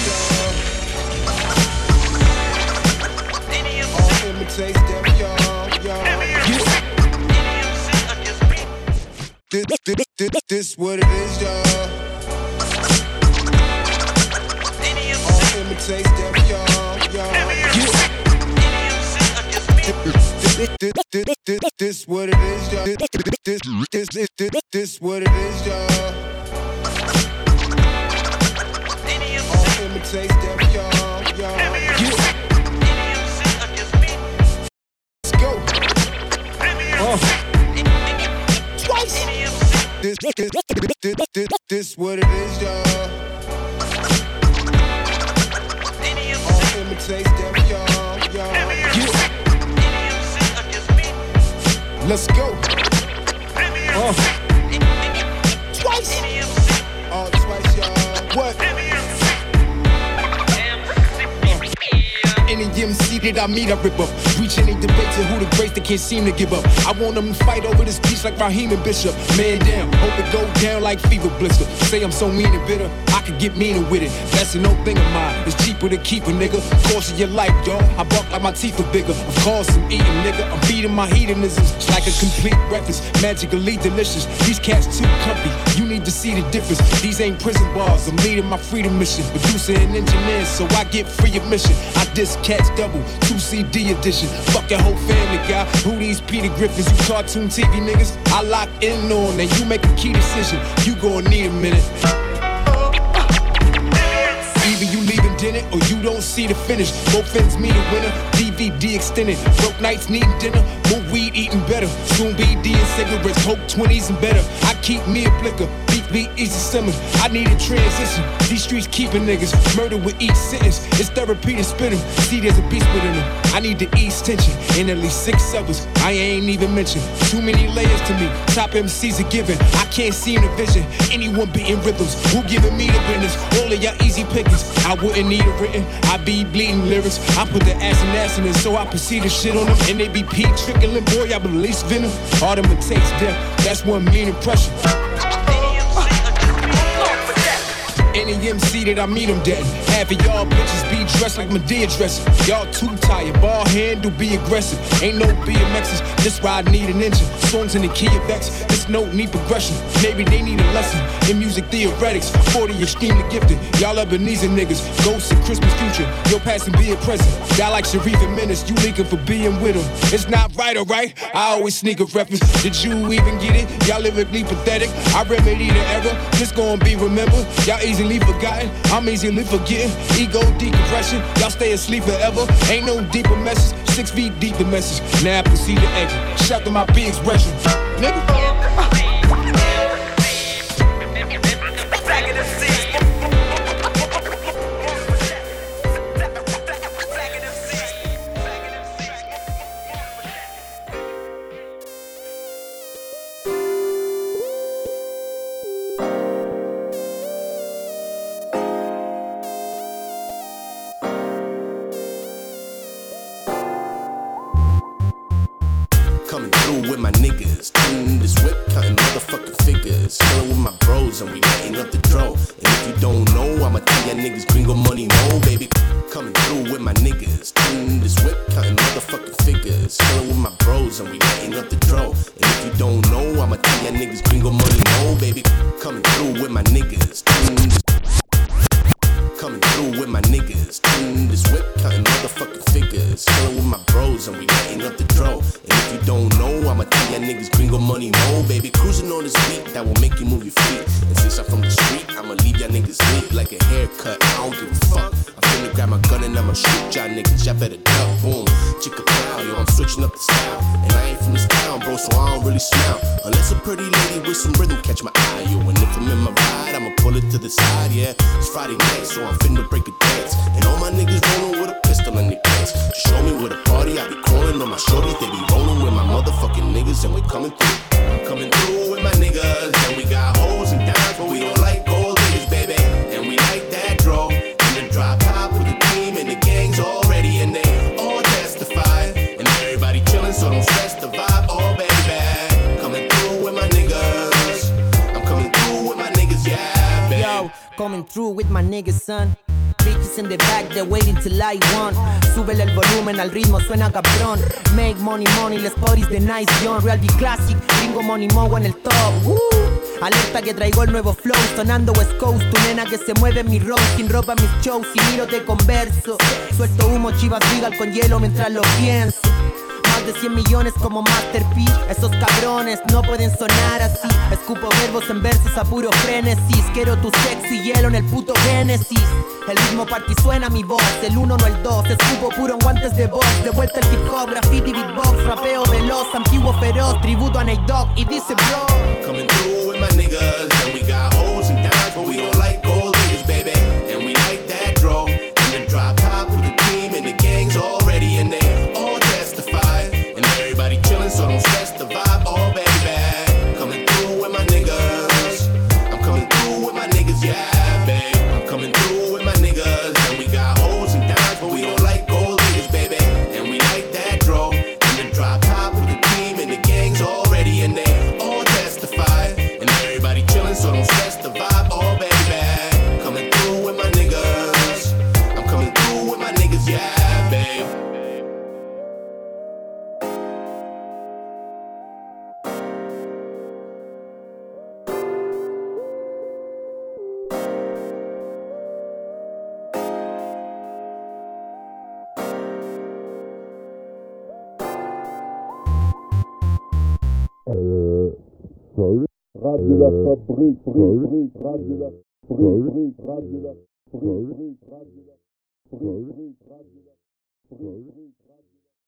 All imitate them, y'all, y'all. This, this, this, this what it is, y'all. All imitate them, y'all, y'all. This, this, this, this, this what it is, y'all. This, this, this, this, this, this what it is, y'all. All imitate them, y'all, y'all. Let's go. Uh. Twice. This, this, this, this, this, this what it is, y'all. All imitate them, y'all, y'all. Let's go. Uh. Twice. Oh, twice, y'all. What? Any M C that I meet, I rip up. Reach any debates and who the greats that can't seem to give up. I want them to fight over this piece like Raheem and Bishop. Man down, hope it go down like fever blister. Say I'm so mean and bitter, I could get meaner with it. That's an old thing of mine. It's cheaper to keep a nigga. Course of your life, dawg. I bark like my teeth are bigger. Of course I'm eating, nigga. I'm feeding my hedonisms like a complete breakfast. Magically delicious. These cats too comfy. You need to see the difference. These ain't prison bars. I'm leading my freedom mission. Producer and engineer, so I get free admission. I diss cats double, two C D edition. Fuck your whole family, guy. Who these Peter Griffins? You cartoon T V niggas? I lock in on, and you make a key decision. You gon' need a minute. Either you leaving dinner or you don't see the finish. Both ends mean a winner. D V D extended. Broke nights needing dinner. More weed eating better. Soon B D and cigarettes. Coke twenties and better. I keep me a blicker. Beat me easy simmer. I need a transition. These streets keeping niggas. Murder with each sentence. It's therapy to spit them. See, there's a beast within them. I need to ease tension. And at least six others I ain't even mentioned. Too many layers to me. Top M Cs are given. I can't see in the vision. Anyone beating rhythms. Who giving me the business? All of y'all easy pickings. I wouldn't need a written. I be bleeding lyrics. I put the ass and ass in it, so I proceed to shit on them. And they be pee trickling. Boy, I release venom. All them it takes death. That's one mean impression. Any M C that I meet, I'm dead. Half of y'all bitches be dressed like Medea dressing. Y'all too tired, ball handle, be aggressive. Ain't no B M X's, this ride need an engine. Songs in the key of X, this note need progression. Maybe they need a lesson in music theoretics. forty extremely gifted, y'all Ebenezer niggas. Ghosts of Christmas future, your past and be a present. Die like Sharif and Menace, you leaking for being with him. It's not right, alright? I always sneak a reference. Did you even get it? Y'all lyrically pathetic. I remedy the error, this gon' be remembered. Y'all easily forgotten, I'm easily forgetting. Ego decompression, y'all stay asleep forever. Ain't no deeper message, six feet deep the message. Now I proceed to exit, shout to my big expression. Nigga. Coming through with my niggas, in this whip, counting motherfucking figures. Chillin' with my bros and we lighting up the dro. And if you don't know, I'ma tell ya niggas gringo money mo, baby. Coming through with my niggas, in this whip, counting motherfucking figures. Chillin' with my bros and we lighting up the dro. And if you don't know, I'ma tell ya niggas gringo money mo, baby. Coming through with my niggas, in this Coming through with my niggas, in this whip, counting motherfucking figures. Chillin' with my bros and we lighting up the dro. And if you don't know, I'ma tell ya niggas gringo money mo, baby. Cruising on this beat that will make you move your feet. And since I'm from the street, I'ma leave y'all niggas lit like a haircut. I don't give a fuck. I'm finna grab my gun and I'ma shoot y'all niggas. Y'all better duck, boom, chicka pow, yo. I'm switching up the style, and I ain't from this town, bro, so I don't really smile unless a pretty lady with some rhythm catch my eye, yo. And if I'm in my ride, I'ma pull it to the side, yeah. It's Friday night, so I'm finna break a dance. And all my niggas rolling with a pistol in their pants. To show me where the party, I be calling on my shorties. They be rolling with my motherfucking niggas, and we coming through. I'm coming through with my niggas, and we got hoes and dimes, but we don't like gold niggas, baby. And we like that draw. In the drop top with the team and the gangs already, and they all testify. And everybody chillin', so don't stress the vibe, oh baby. Coming through with my niggas. I'm coming through with my niggas, yeah, baby. Yo, coming through with my niggas, son. Bitches in the back, they're waiting till I want. Súbele el volumen, al ritmo suena cabrón. Make money, money, let's party's the nice John. Real be classic, gringo money, mo en el top. Woo. Alerta que traigo el nuevo flow, sonando West Coast. Tu nena que se mueve en mi road, sin ropa mis shows. Si miro te converso, suelto humo, chivas regal con hielo mientras lo pienso. Más de cien millones como Master P. Esos cabrones no pueden sonar así. Escupo verbos en versos a puro frenesis. Quiero tu sexy hielo en el puto Genesis. El ritmo party suena mi voz, el uno no el dos. Escupo puro en guantes de box. De vuelta el hip hop, graffiti, beatbox. Rapeo veloz, antiguo feroz. Tributo a Nate Dogg y dice bro. Coming through with my niggas, and we got hoes and dimes, but we don't like gold niggas, baby. And we like that draw. In the drop top with the team and the gangs already, and they all testify. And everybody chillin', so don't don't stress the vibe, oh baby. Coming through with my niggas. I'm coming through with my niggas, yeah, babe. I'm coming through with my niggas. And we got O's and dimes, but we don't like gold niggas, baby. And we like that dro. In the drop top with the team and the gang's already in there. All testify. And everybody chillin', so don't stress the vibe, oh baby. Coming through with my niggas. I'm coming through with my niggas, yeah, babe. Radio La Fabrique, brique, radio la brique, radio la brique, radio la brique, radio la brique, radio la brique.